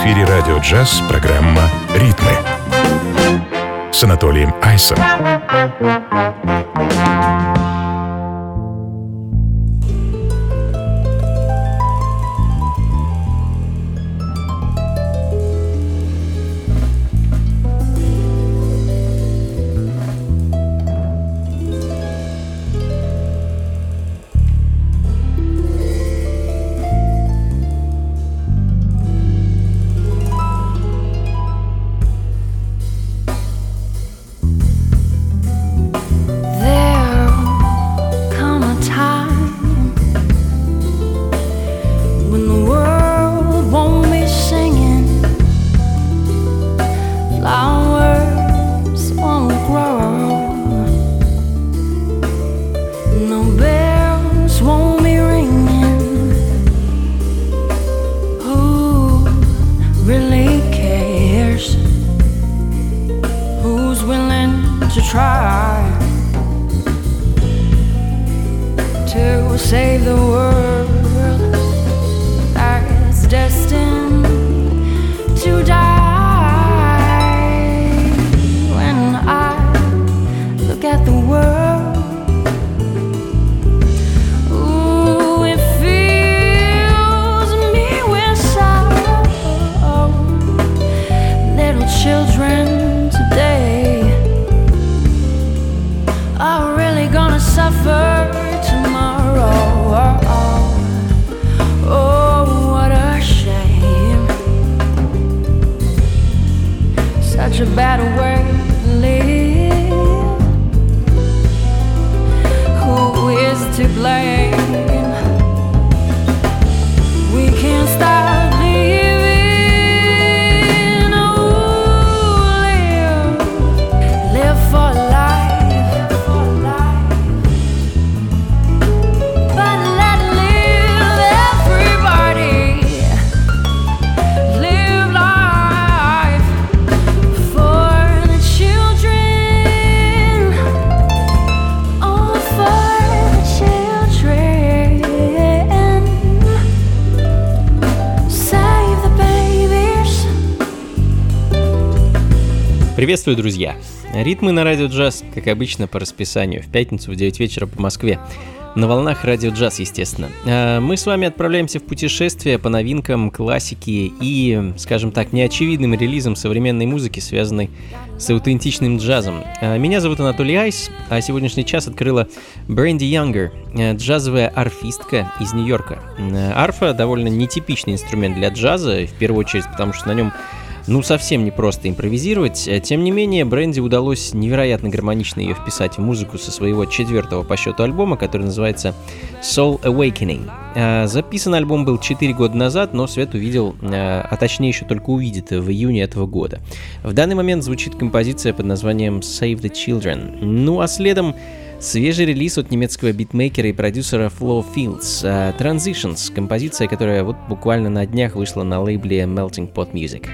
эфире радио «Джаз» программа «Ритмы» с Анатолием Айсом. Приветствую, друзья! Ритмы на радио «Джаз», как обычно, по расписанию, в пятницу в 9 вечера по Москве. На волнах радио «Джаз», естественно. Мы с вами отправляемся в путешествие по новинкам, классике и, скажем так, неочевидным релизам современной музыки, связанной с аутентичным джазом. Меня зовут Анатолий Айс, а сегодняшний час открыла Бренди Янгер, джазовая арфистка из Нью-Йорка. Арфа — довольно нетипичный инструмент для джаза, в первую очередь, потому что на нем совсем не просто импровизировать. Тем не менее, Бренди удалось невероятно гармонично ее вписать в музыку со своего 4-го по счету альбома, который называется Soul Awakening. Записан альбом был 4 года назад, но свет увидел, а точнее еще только увидит в июне этого года. В данный момент звучит композиция под названием Save the Children. А следом свежий релиз от немецкого битмейкера и продюсера Flo Fields, Transitions, композиция, которая вот буквально на днях вышла на лейбле Melting Pot Music.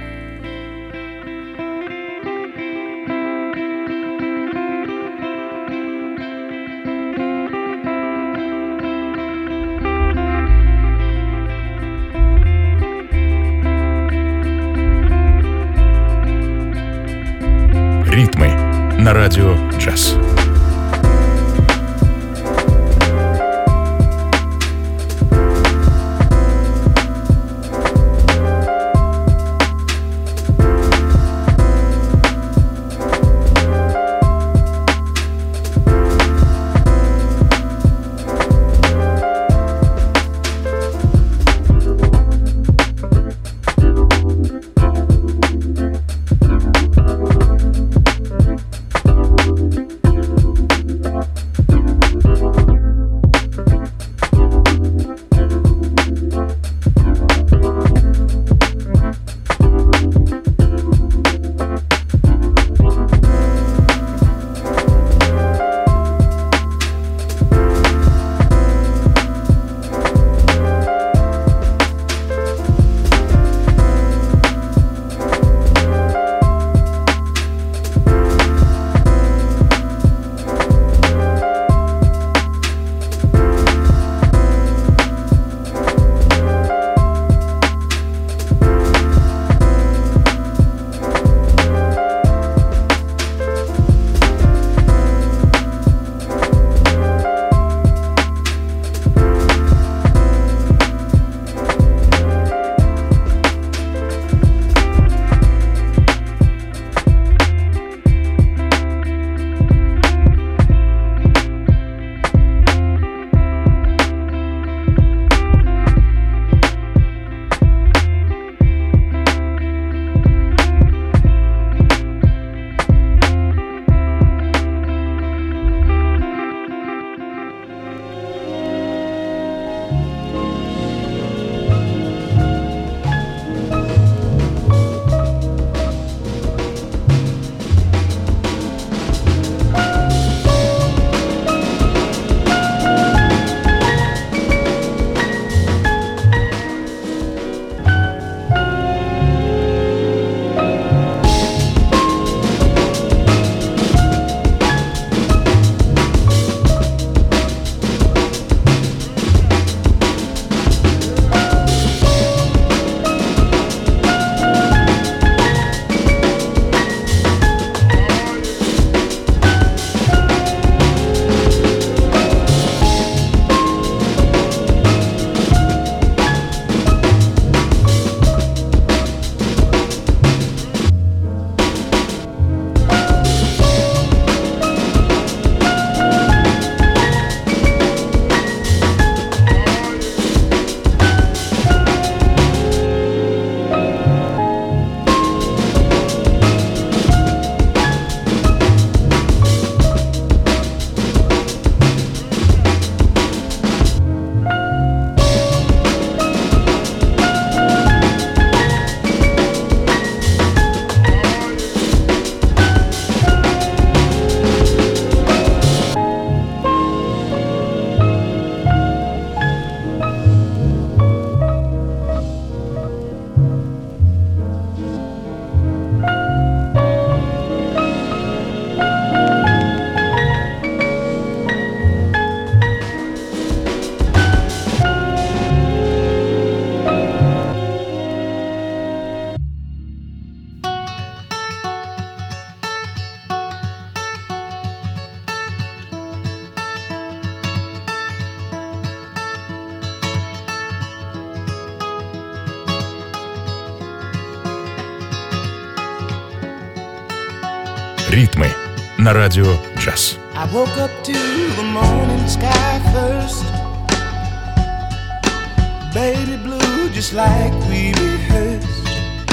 Ритмы на радио «Джаз». Ритмы на радио джаз. I woke up to the morning sky first. Baby blue, just like we rehearsed.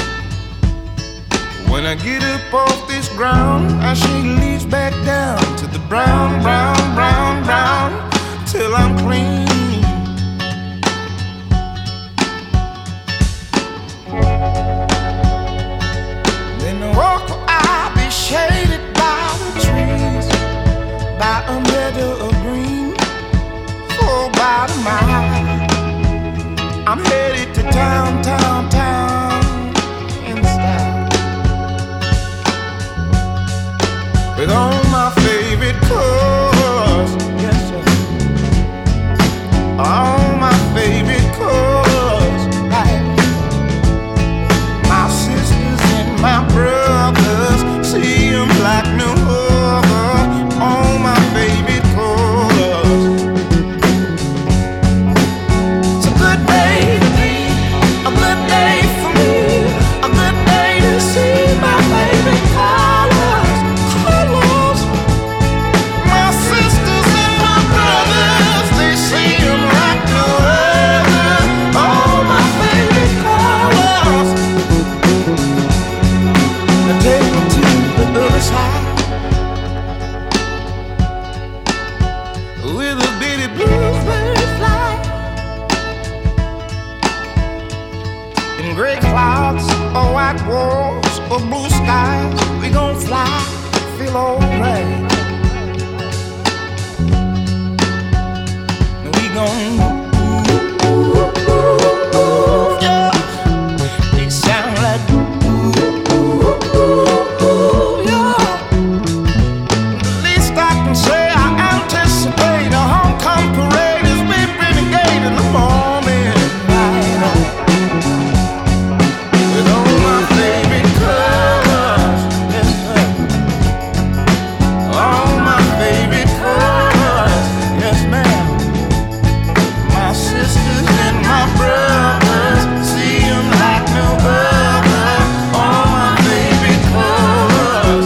When I get up off this ground, I shake leaves back down to the brown, brown, brown, brown, till I'm clean. Then the walk I'll be shaded by the trees, by a meadow of green, for about a mile. I'm headed to town, town, town, in style, with all my favorite colors, yes sir, all my favorite colors, like my sisters and my brothers, see them like no other, all my favorite colors. It's a good day to be, a good day for me, a good day to see my favorite colors, colors. My sisters and my brothers, they see them like no other, all my favorite colors. Now take me to the other side, with a bitty bluebird fly, in gray clouds or white walls or blue skies, we gon' fly, feel alright. We gon' yeah. They sound like yeah. The least I can say, I anticipate a homecoming parade as we renegade in the morning light, with all my favorite colors, yes sir, all my favorite colors, yes ma'am. My sisters and my brothers, see them like no other, all my favorite colors.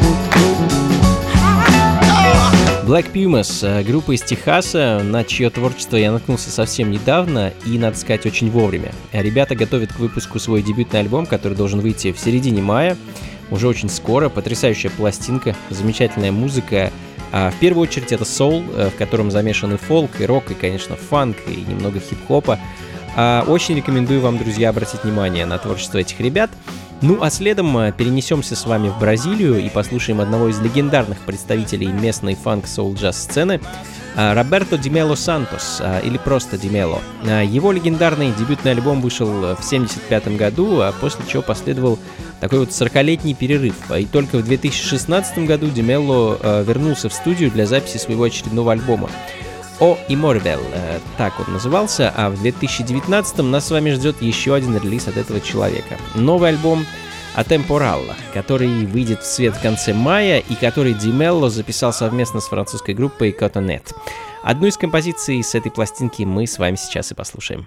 Black Pumas, группа из Техаса, на чье творчество я наткнулся совсем недавно и, надо сказать, очень вовремя. Ребята готовят к выпуску свой дебютный альбом, который должен выйти в середине мая, уже очень скоро. Потрясающая пластинка, замечательная музыка. В первую очередь это соул, в котором замешаны фолк и рок, и, конечно, фанк, и немного хип-хопа. Очень рекомендую вам, друзья, обратить внимание на творчество этих ребят. Ну а следом перенесемся с вами в Бразилию и послушаем одного из легендарных представителей местной фанк-соул-джаз-сцены, Роберто Ди Мело Сантос, или просто Ди Мело. Его легендарный дебютный альбом вышел в 1975 году, а после чего последовал такой вот 40-летний перерыв. И только в 2016 году Ди Мело вернулся в студию для записи своего очередного альбома. «О Имморбел», так он назывался, а в 2019 нас с вами ждет еще один релиз от этого человека. Новый альбом «Атемпоралла», который выйдет в свет в конце мая и который Ди Мело записал совместно с французской группой Cotonnet. Одну из композиций с этой пластинки мы с вами сейчас и послушаем.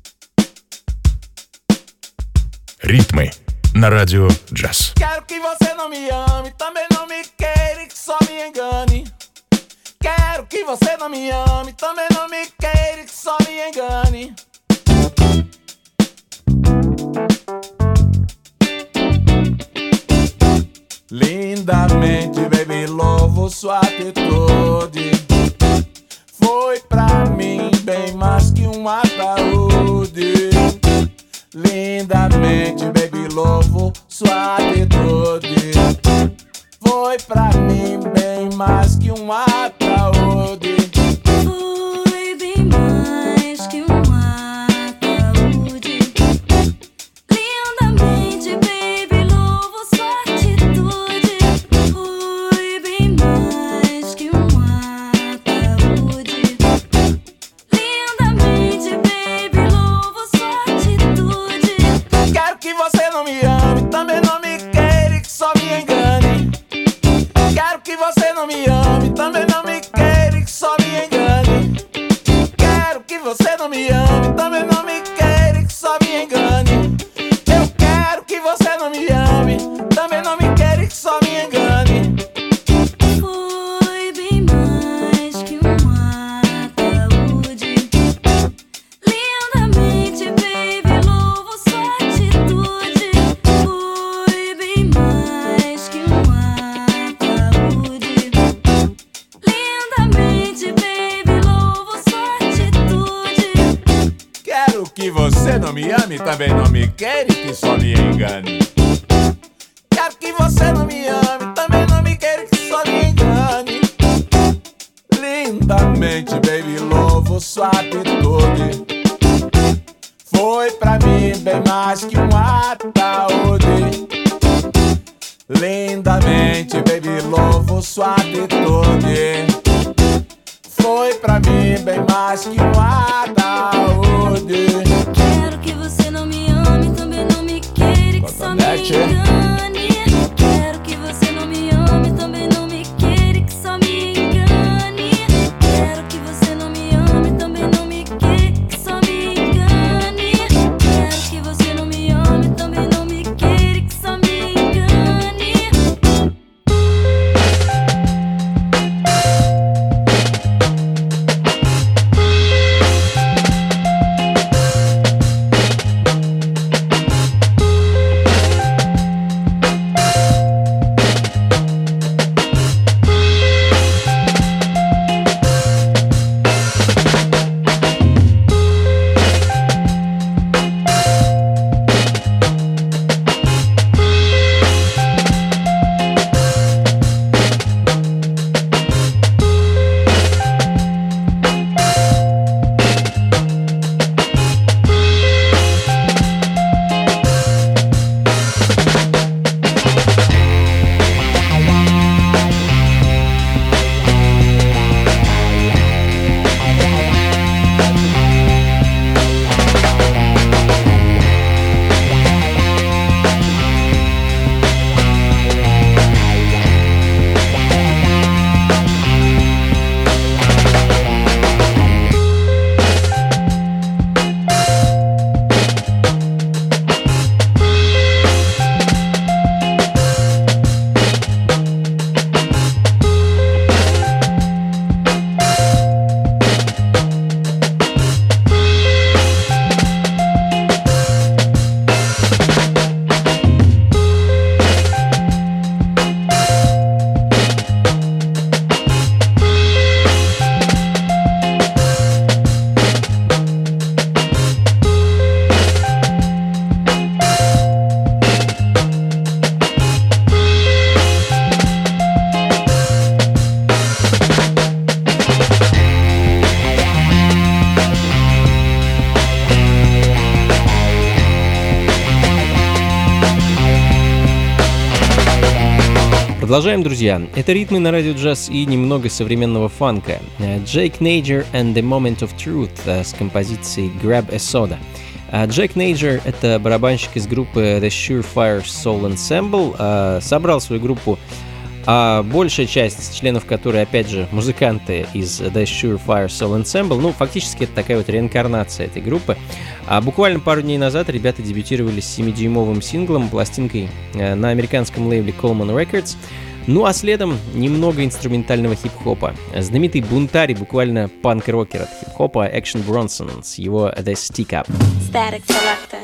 Ритмы на радио джаз. Quero que você não me ame, também não me queira e que só me engane. Quero que você não me ame, também não me queira e que só me engane. Lindamente, baby, louvo sua atitude. Foi pra mim bem mais que um ataúde. Lindamente, baby, louvo sua atitude. Foi pra mim bem mais que um ataúde. Foi bem mais que um ataúde. Lindamente, baby, louvo sua atitude. Foi bem mais que um ataúde. Lindamente, baby, louvo sua atitude. Quero que você não me ame, também não me queira e que só me engane. Quero que você não me ame, também não me queira e que só me engane. Quero que você não me ame, também não me queira e que só me engane. Eu quero que você não me ame, também não me queira e que só me engane. Quero que você não me ame, também não me queira e que só me engane. Quero que você não me ame, também não me queira e que só me engane. Lindamente, baby, louvo sua atitude. Foi pra mim bem mais que um ataúde. Lindamente, baby, louvo sua atitude. Foi pra mim bem mais que um ataúde. Quero que você não me ame, também não me queira e que só me engane. Quero que você não me ame, também não me queira e que só me engane. Quero que você não me ame, também não me queira e que só me engane. Quero que você não me ame, também não me queira e que só me engane. Продолжаем, друзья. Это ритмы на радио джаз и немного современного фанка. Джейк Нейджер and the Moment of Truth с композицией Grab a Soda. Джейк Нейджер — это барабанщик из группы The Surefire Soul Ensemble. Собрал свою группу, большая часть членов которой, опять же, музыканты из The Surefire Soul Ensemble. Ну, фактически это такая вот реинкарнация этой группы. Буквально пару дней назад ребята дебютировали с 7-дюймовым синглом, пластинкой на американском лейбле Coleman Records. Ну а следом немного инструментального хип-хопа. Знаменитый бунтарь и буквально панк-рокер от хип-хопа Action Bronson с его The Stick Up. Static Selector.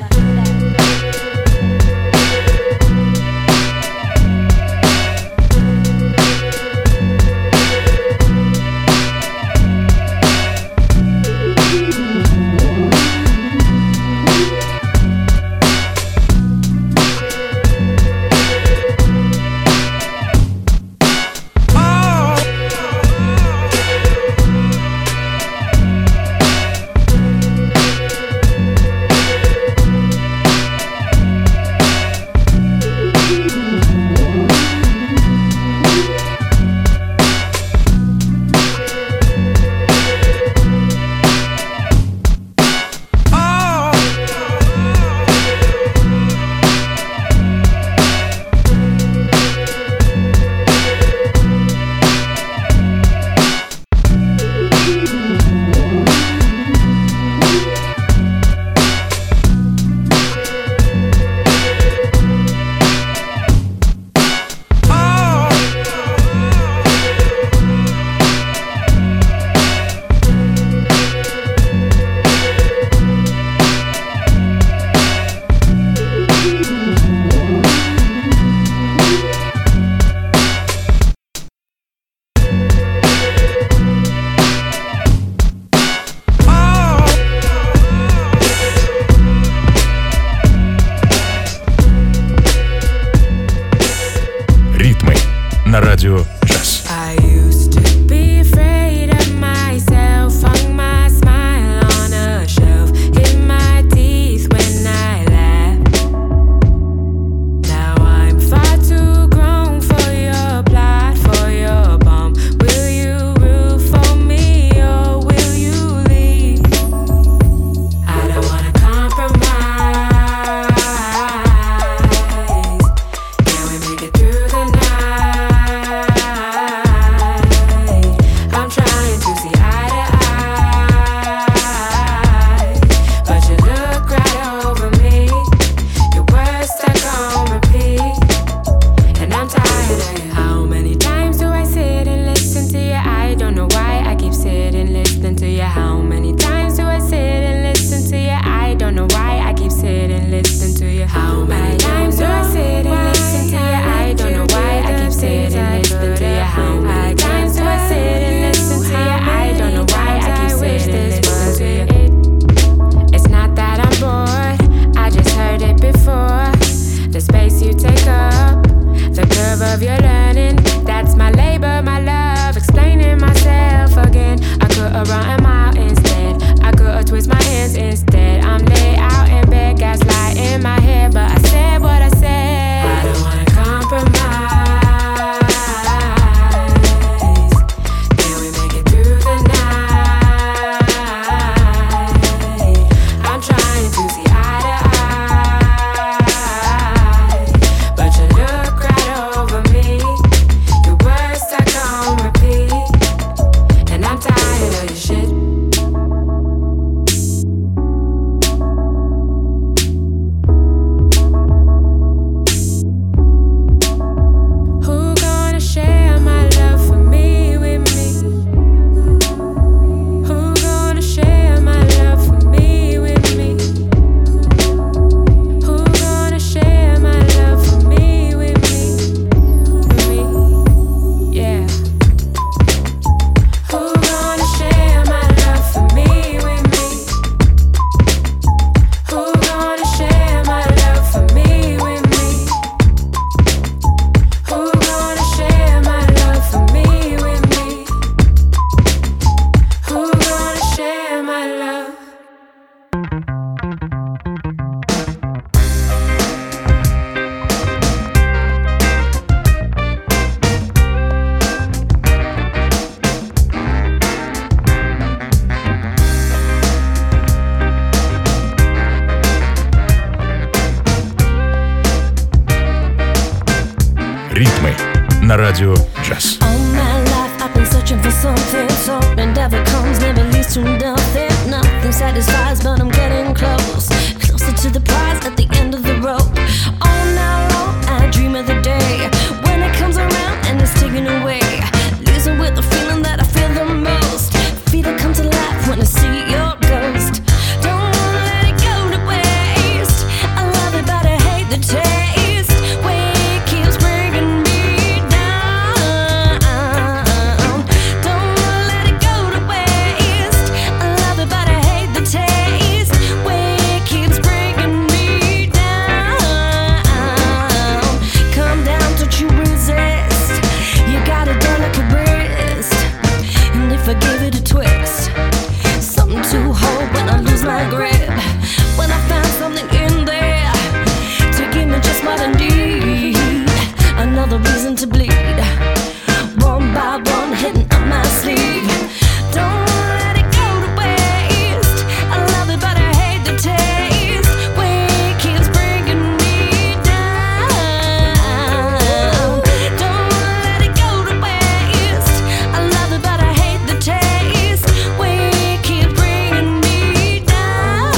на радио джаз. All my life I've been searching for something, something never comes, never leads to nothing. Nothing satisfies, but I'm getting close, closer to the prize at the end of the road. All night long I dream of the day when it comes around and it's taken away, losing with the feeling that I feel the most. Feel it come to life when I see your ghost. Don't let it go to waste. I love it but I hate the taste. Way it keeps bringing me down. Don't let it go to waste. I love it but I hate the taste. Way it keeps bringing me down. Come down, don't you resist. You got a delicate wrist, and if I give it a twist, something to hold when I lose my grip. When I found something in there to give me just what I need, another reason to bleed. One by one, hitting up my sleeve. Don't let it go to waste. I love it, but I hate the taste. Way it keeps bringing me down. Don't let it go to waste. I love it, but I hate the taste. Way it keeps bringing me down.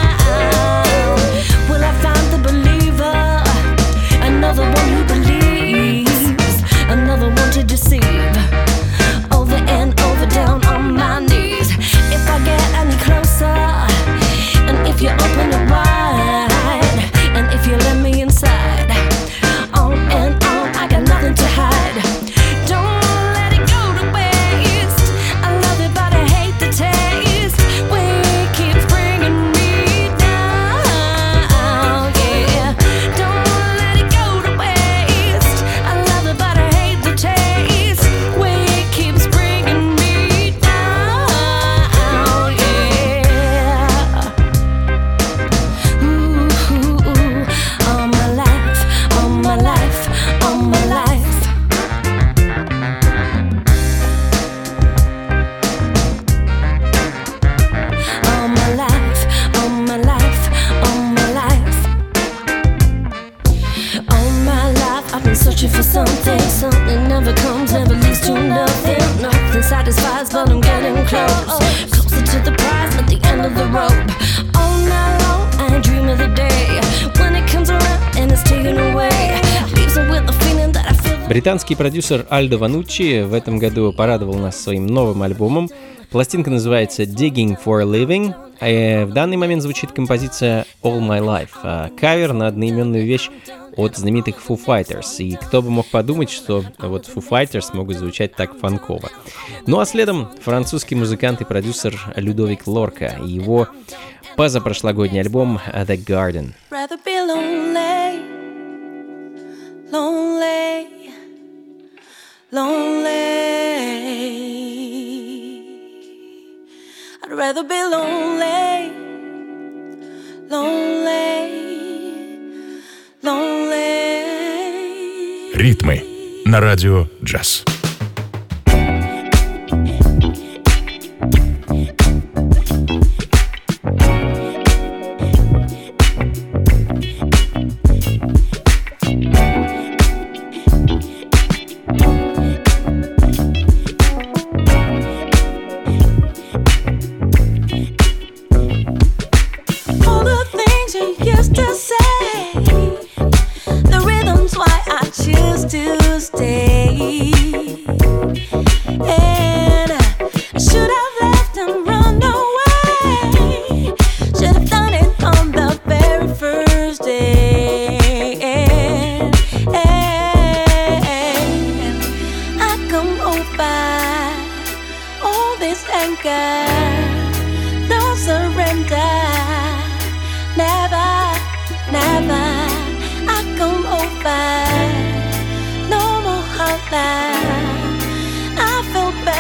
Well, I found the believer, another one who believes, another one to deceive. Over and over, down on my knees. If I get any closer, and if you open it wide, and if you let me inside, on and on, I got nothing to hide. Don't let it go to waste. I love it, but I hate the taste. Way it keeps bringing me down. Yeah, don't let it go to waste. I love it, but I hate the taste. Way it keeps bringing me down. Yeah. Ooh, all my life, all my life, all my life. All my life, all my life, all my life. All my life I've been searching for something, something never comes, never leads to nothing. Nothing satisfies, but I'm getting close, closer to the prize at the end of the road. All night long I dream of the day when it comes around and it's taken away, leaves me with the feeling that I feel. Британский продюсер Альдо Вануччи в этом году порадовал нас своим новым альбомом. Пластинка называется Digging for a Living. В данный момент звучит композиция All My Life, кавер на одноименную вещь от знаменитых Foo Fighters. И кто бы мог подумать, что вот Foo Fighters могут звучать так фанково. Ну а следом французский музыкант и продюсер Людовик Лорка и его позапрошлогодний альбом The Garden. Rather be lonely, lonely, lonely. I'd rather be lonely, lonely, lonely. Ритмы на радио джаз. All the things you used to say, the rhythm's why I choose to stay. And I should have left and run away. Should have done it on the very first day. And I come over all this anger, no surrender. Never, never, I come over, no more hunger. I feel better.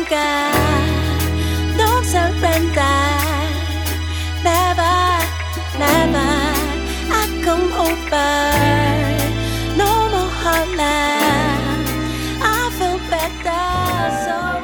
longer. Don't surrender. Never, never. I come over. No more Harlem. I feel better. So.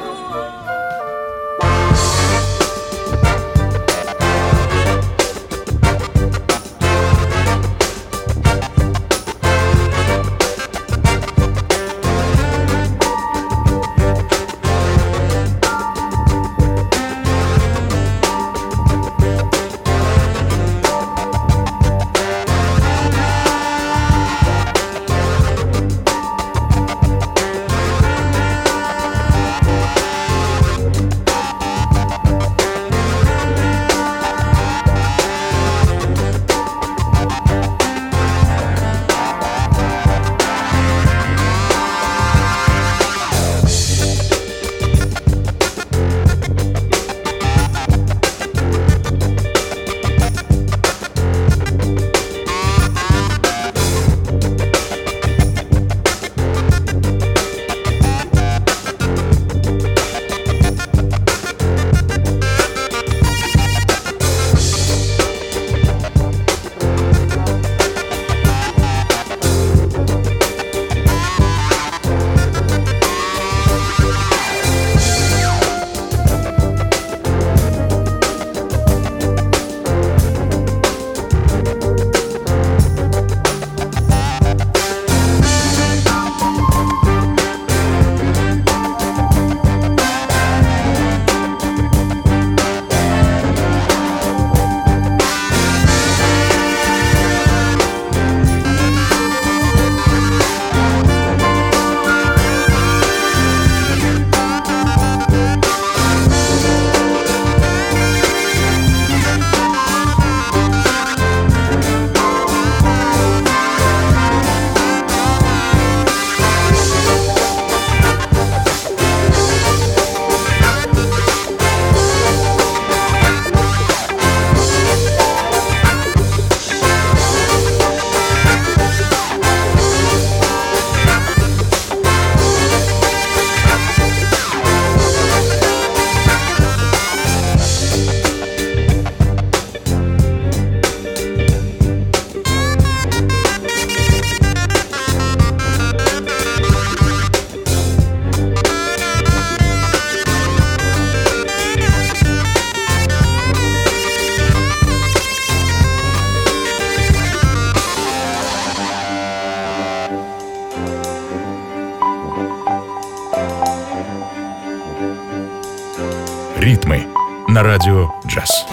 Ритмы на радио «Джаз».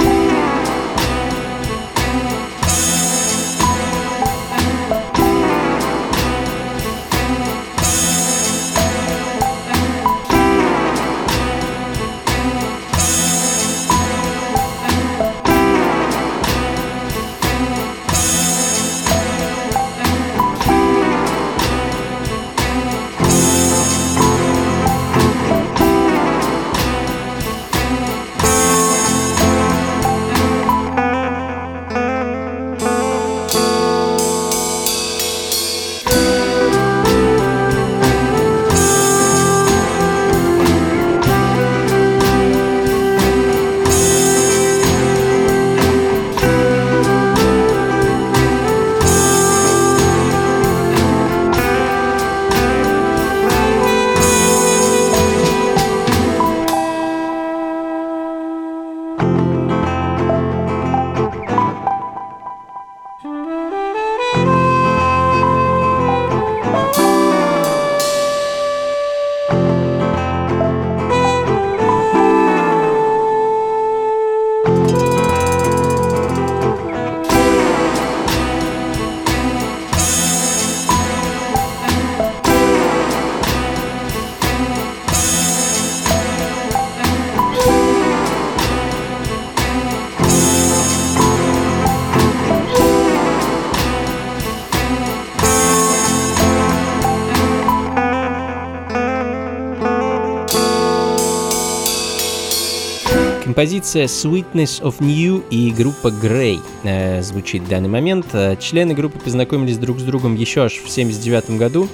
Композиция Sweetness of New и группа Grey звучит в данный момент. Члены группы познакомились друг с другом еще аж в 1979 году.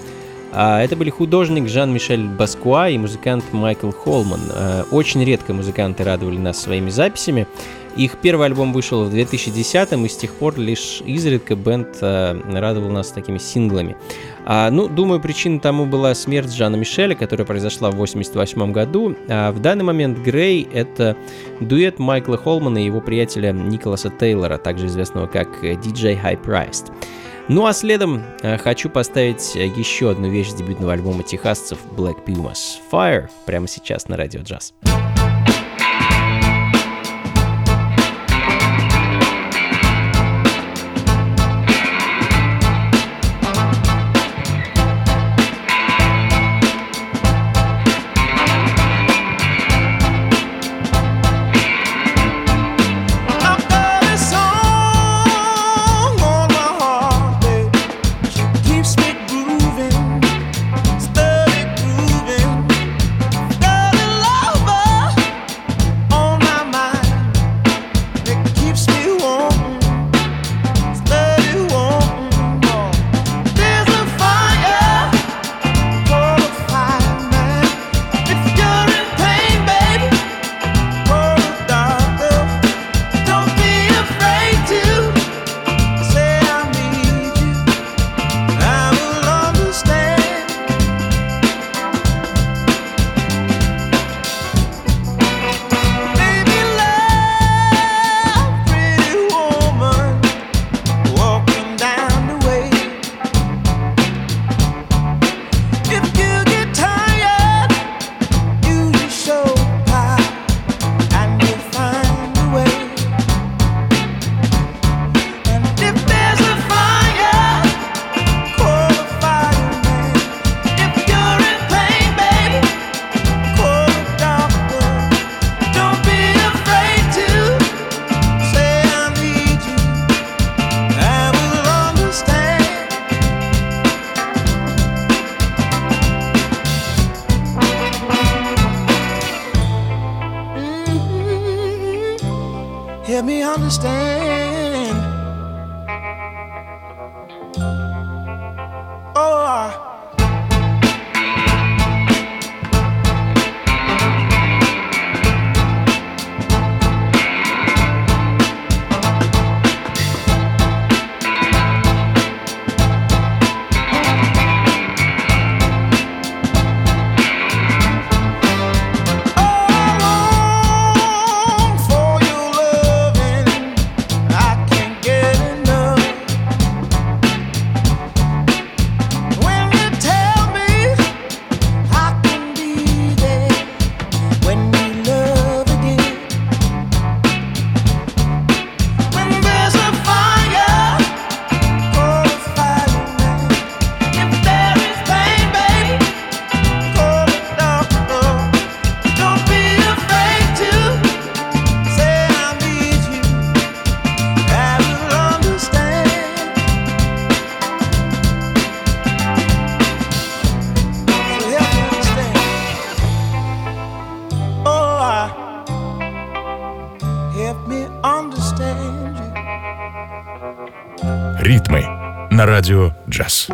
Это были художник Жан-Мишель Баскуа и музыкант Майкл Холман. Очень редко музыканты радовали нас своими записями. Их первый альбом вышел в 2010-м, и с тех пор лишь изредка бэнд радовал нас такими синглами. Думаю, причиной тому была смерть Жана Мишеля, которая произошла в 1988 году. В данный момент «Грей» — это дуэт Майкла Холмана и его приятеля Николаса Тейлора, также известного как DJ High Priced. А следом хочу поставить еще одну вещь с дебютного альбома техасцев Black Pumas — Fire, прямо сейчас на Радио Джаз. Help me understand. Oh, Ритмы на Радио Джаз.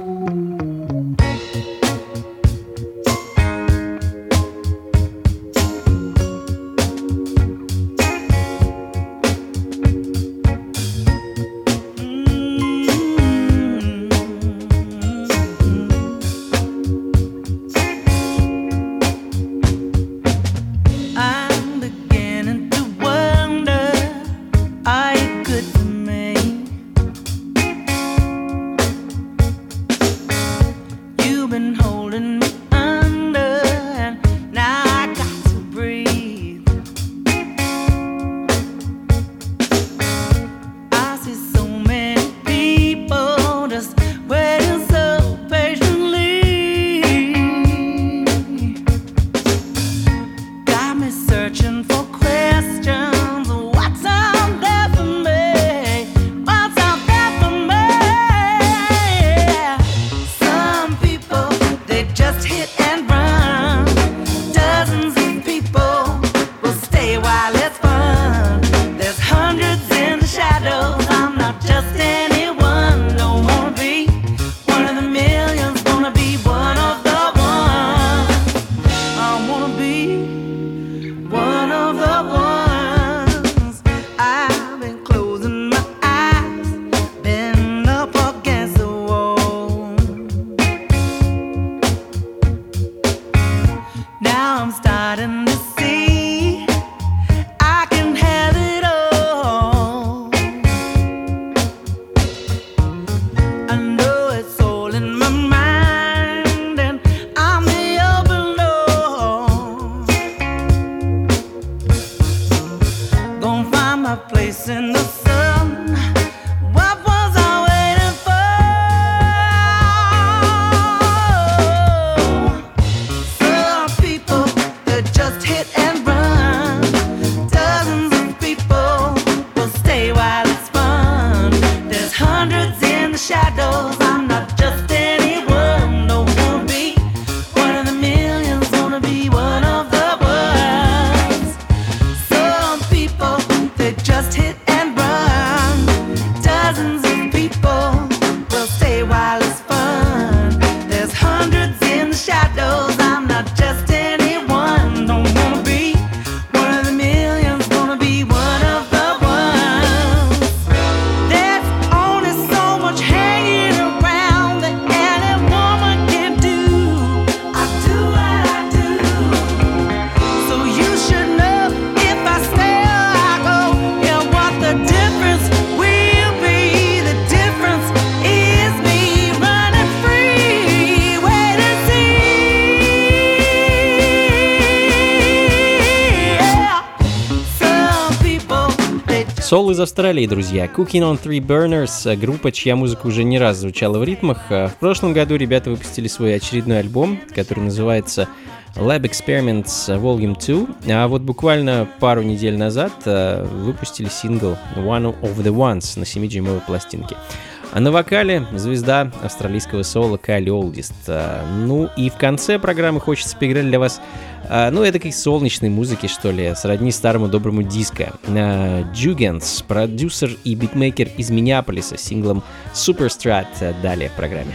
Соул из Австралии, друзья. Cooking on Three Burners, группа, чья музыка уже не раз звучала в ритмах. В прошлом году ребята выпустили свой очередной альбом, который называется Lab Experiments Volume 2, а вот буквально пару недель назад выпустили сингл One of the Ones на 7-дюймовой пластинке. А на вокале звезда австралийского соула Кайли Олдист. Ну и в конце программы хочется поиграть для вас, эдакой солнечной музыки, что ли, сродни старому доброму диско. Jugens, продюсер и битмейкер из Миннеаполиса, с синглом Superstrat далее в программе.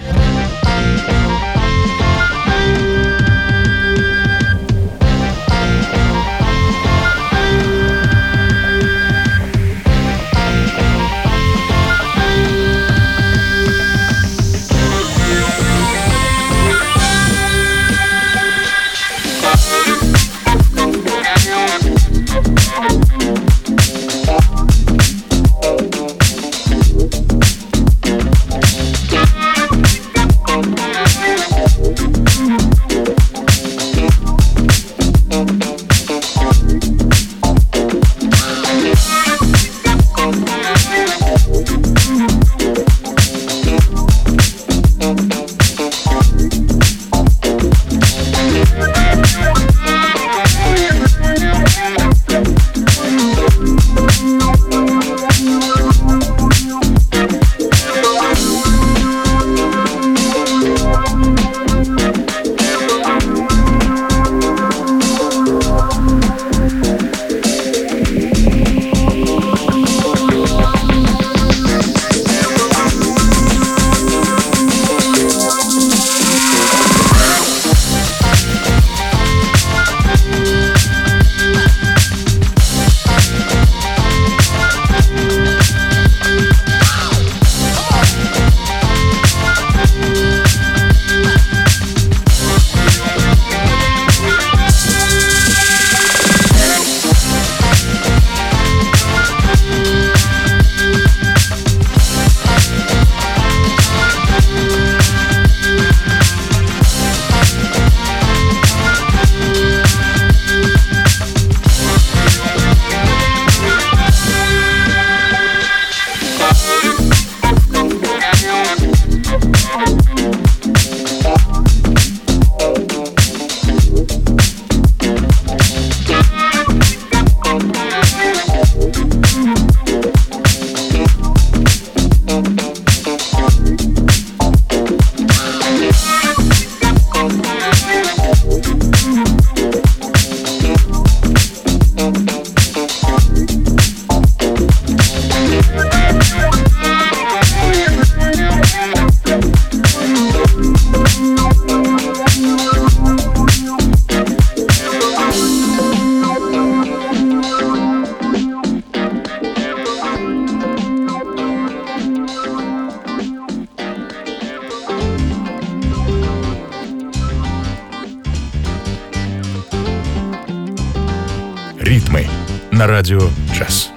Ритмы на радио «Джаз».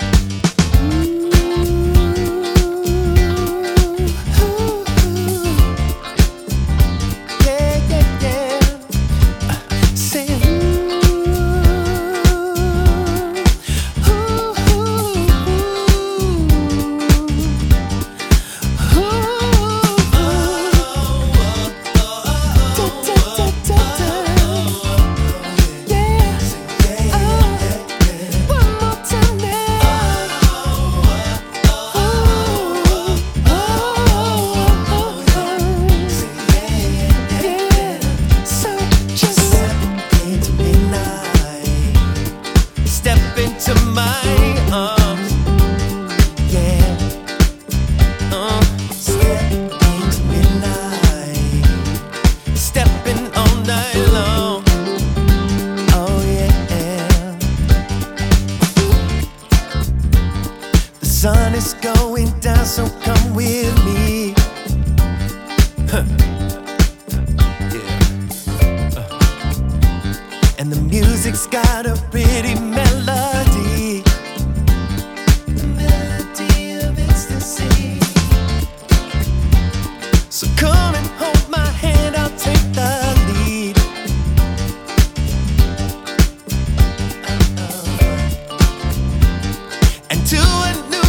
To a new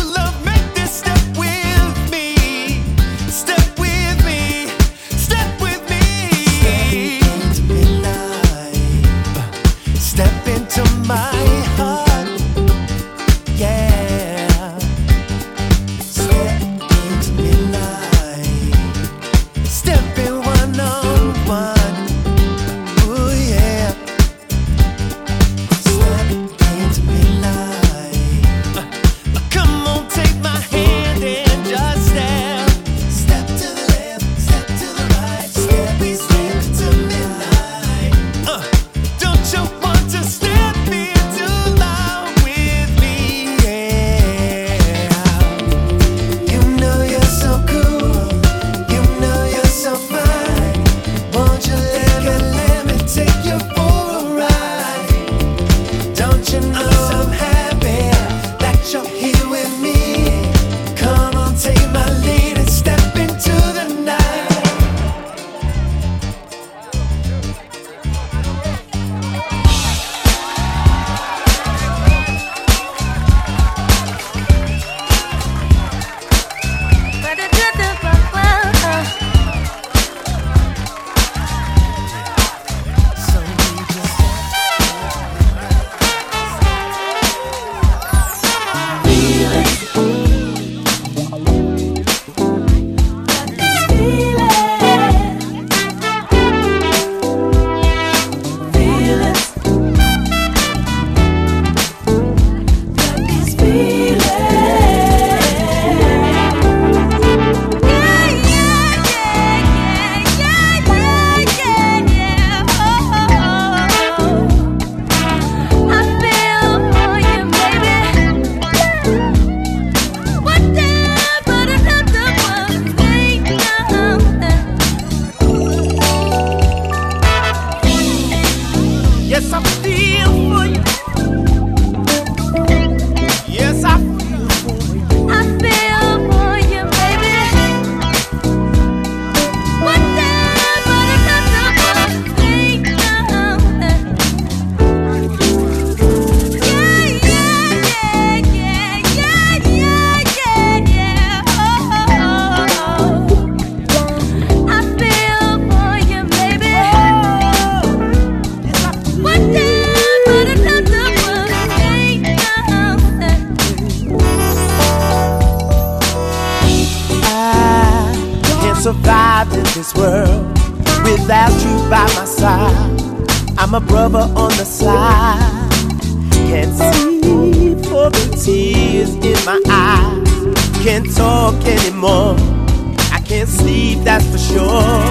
this world without you by my side. I'm a brother on the side. Can't see for the tears in my eyes. Can't talk anymore. I can't sleep, that's for sure.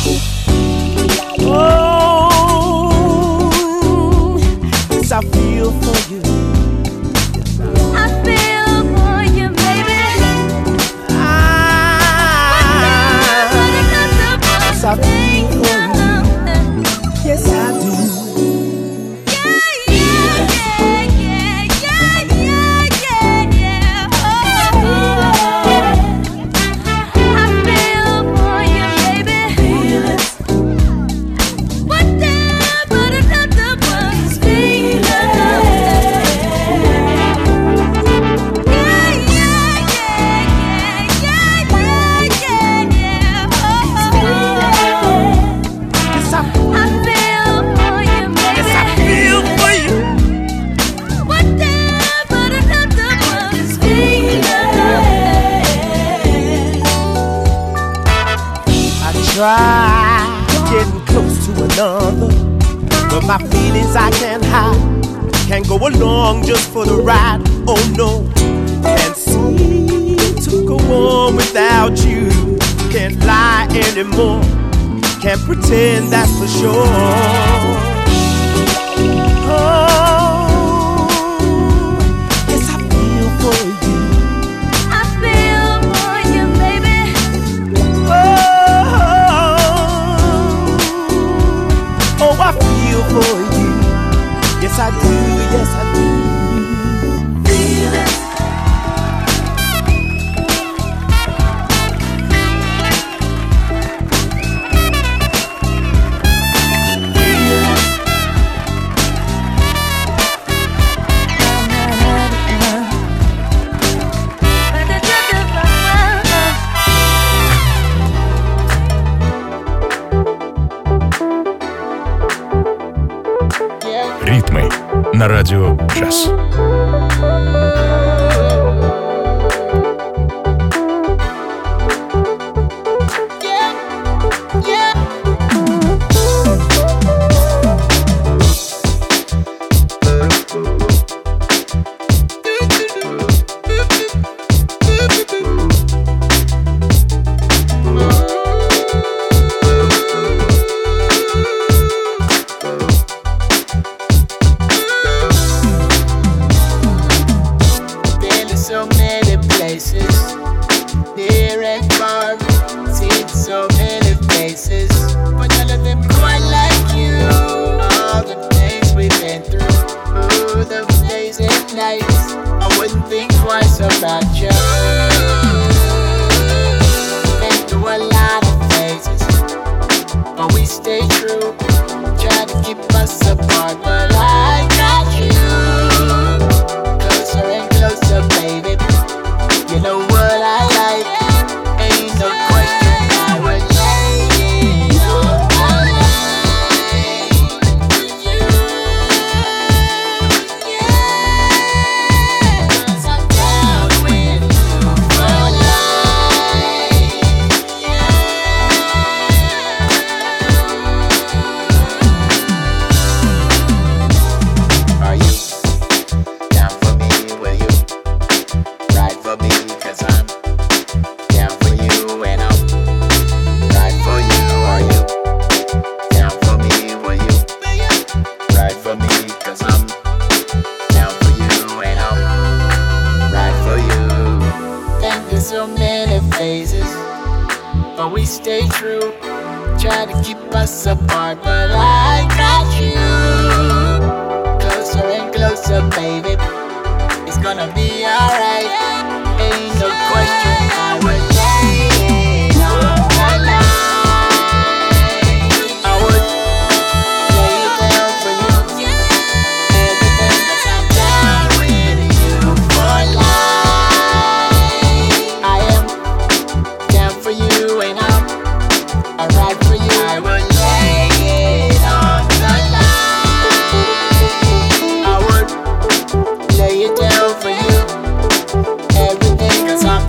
Oh, yes, I feel for you. I feel for you, baby. Yes, I feel for you. Yes, I do. Try getting close to another, but my feelings I can't hide. Can't go along just for the ride. Oh no, can't seem to go on without you. Can't lie anymore. Can't pretend, that's for sure. Oh, yes, I feel for you. I feel for you, baby. Oh, I feel for you. Yes, I do. Yes, I do. Feel it. Ритмы на радио «Джаз». Lay it down for you. Everything 'cause I'm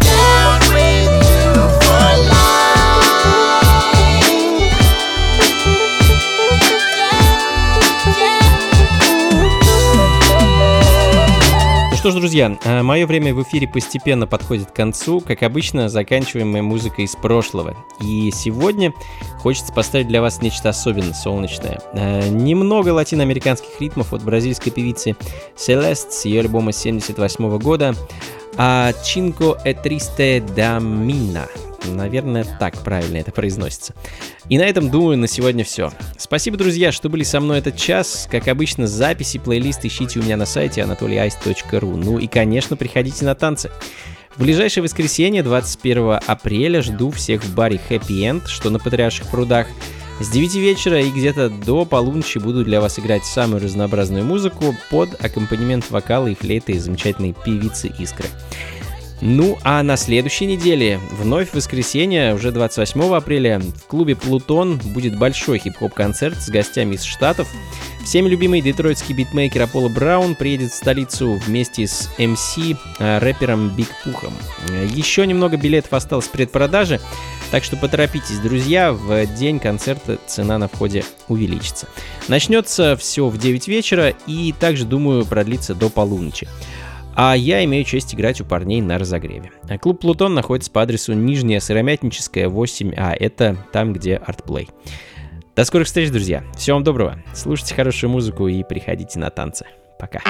что ж, друзья, мое время в эфире постепенно подходит к концу. Как обычно, заканчиваем мы музыкой из прошлого. И сегодня хочется поставить для вас нечто особенно солнечное. Немного латиноамериканских ритмов от бразильской певицы Celeste с ее альбома 1978 года «Cinco e Triste da Mina». Наверное, так правильно это произносится. И на этом, думаю, на сегодня все. Спасибо, друзья, что были со мной этот час. Как обычно, записи, плейлист ищите у меня на сайте anatolyice.ru. Ну и, конечно, приходите на танцы. В ближайшее воскресенье, 21 апреля, жду всех в баре Happy End, что на Патриарших прудах. С 9 вечера и где-то до полуночи буду для вас играть самую разнообразную музыку под аккомпанемент вокала и флейты замечательной певицы Искры. Ну, а на следующей неделе, вновь в воскресенье, уже 28 апреля, в клубе «Плутон» будет большой хип-хоп-концерт с гостями из Штатов. Всеми любимый детройтский битмейкер Аполло Браун приедет в столицу вместе с MC, рэпером Биг Пухом. Еще немного билетов осталось в предпродаже, так что поторопитесь, друзья, в день концерта цена на входе увеличится. Начнется все в 9 вечера и также, думаю, продлится до полуночи. А я имею честь играть у парней на разогреве. Клуб «Плутон» находится по адресу Нижняя Сыромятническая, 8А. Это там, где артплей. До скорых встреч, друзья. Всего вам доброго. Слушайте хорошую музыку и приходите на танцы. Пока.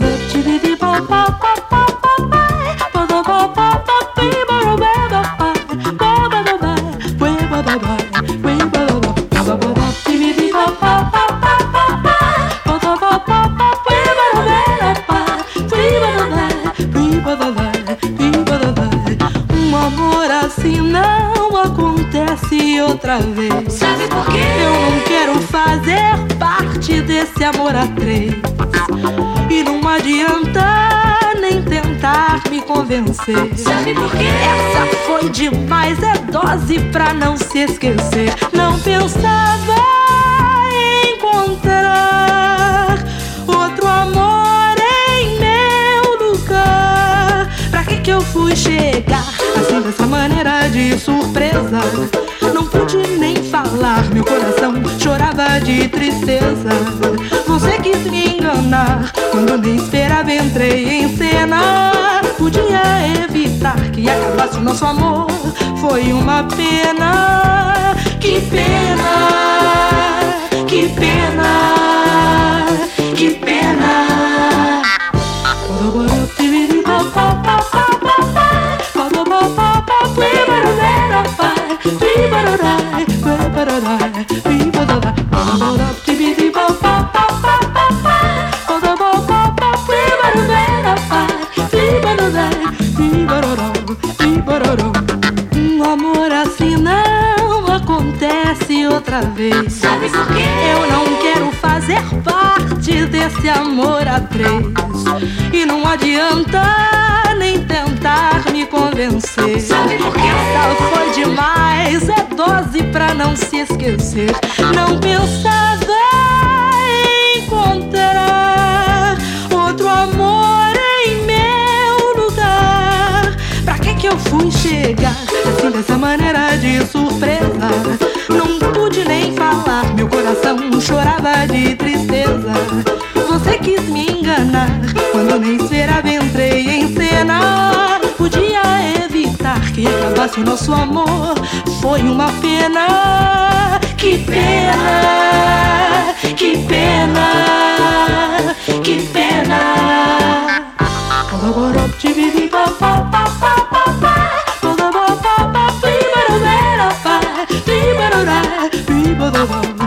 amor assim não acontece outra vez. Sabe por quê? Eu não quero fazer parte desse amor a três. E não adianta nem tentar me convencer. Sabe por quê? Essa foi demais, é dose pra não se esquecer. Não pensava em encontrar outro amor em meu lugar. Pra que eu fui chegar assim dessa maneira de surpresa? Não pude nem falar, meu coração chorava de tristeza. Você quis me enganar, quando nem esperava entrei em cena. Podia evitar que acabasse o nosso amor, foi uma pena. Que pena, que pena, que pena. Um amor assim não acontece outra vez. Sabe por quê? Eu não quero fazer parte desse amor a três. E não adianta nem tentar me convencer. Sabe por quê? Essa foi demais, é dose pra não se esquecer. Não pensava em encontrar outro amor em meu lugar. Pra que eu fui chegar assim dessa maneira de surpresa? Não pude nem falar, meu coração chorava de tristeza. Você quis me enganar, quando nem esperava entrei em cena. Podia evitar que acabasse o nosso amor, foi uma pena. Que pena, que pena, que pena. Ba